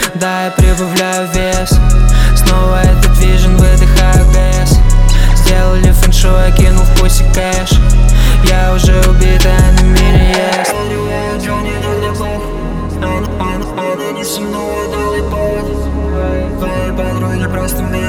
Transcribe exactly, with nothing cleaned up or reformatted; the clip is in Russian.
Да, я прибавляю вес. Снова этот вижен, выдыхаю газ. Сделали фэншуй, я кинул в пуси кэш. Я уже убит, а на мире есть. Она не со мной, дал ей повод. Твои подруги просто меня